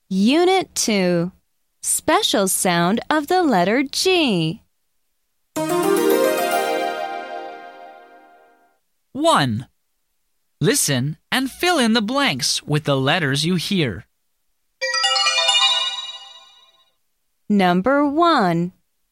Unit 2. Special sound of the letter G. 1. Listen and fill in the blanks with the letters you hear. Number 1.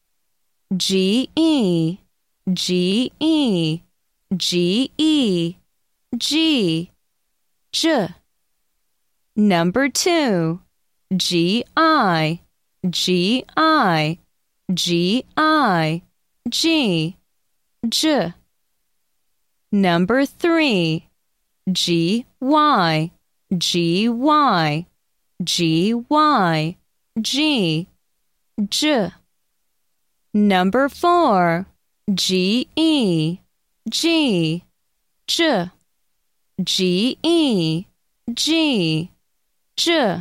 G-E, G-E, G-E, G, J. Number 2. G-I, G-I, G-I, G, J. Number 3. G-Y, G-Y, G-Y, G, J. Number 4. G-E, G, J, G-E, G, J,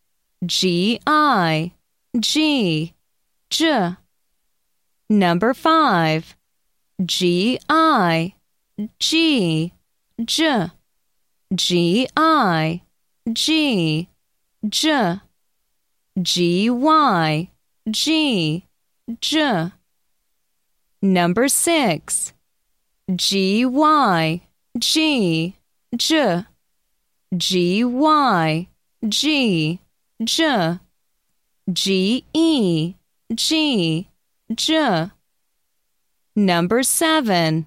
G-I, G, J. Number 5. G-I, G, J, G-I, G, J, G-Y, G, J. Number 6. G-Y, G, J, G-Y, G, J, G-E, G, J. Number 7.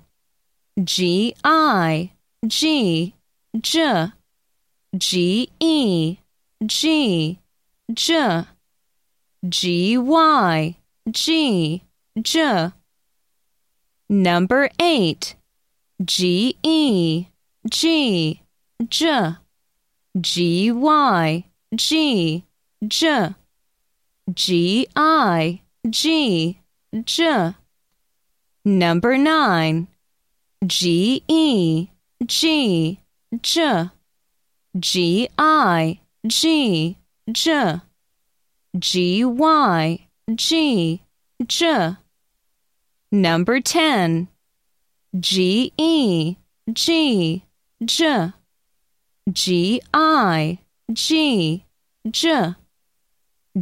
G-I, G, J, G-E, G, J, G-Y, G, J. Number 8. G-E, G, J, G-Y, G, J, G-I, G, J. Number 9. G-E, G, J, G-I, G, J, G-Y, G, J. Number 10. G-E, G, J, G-I, G, J,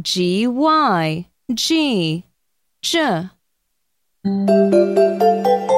G-Y, G, J.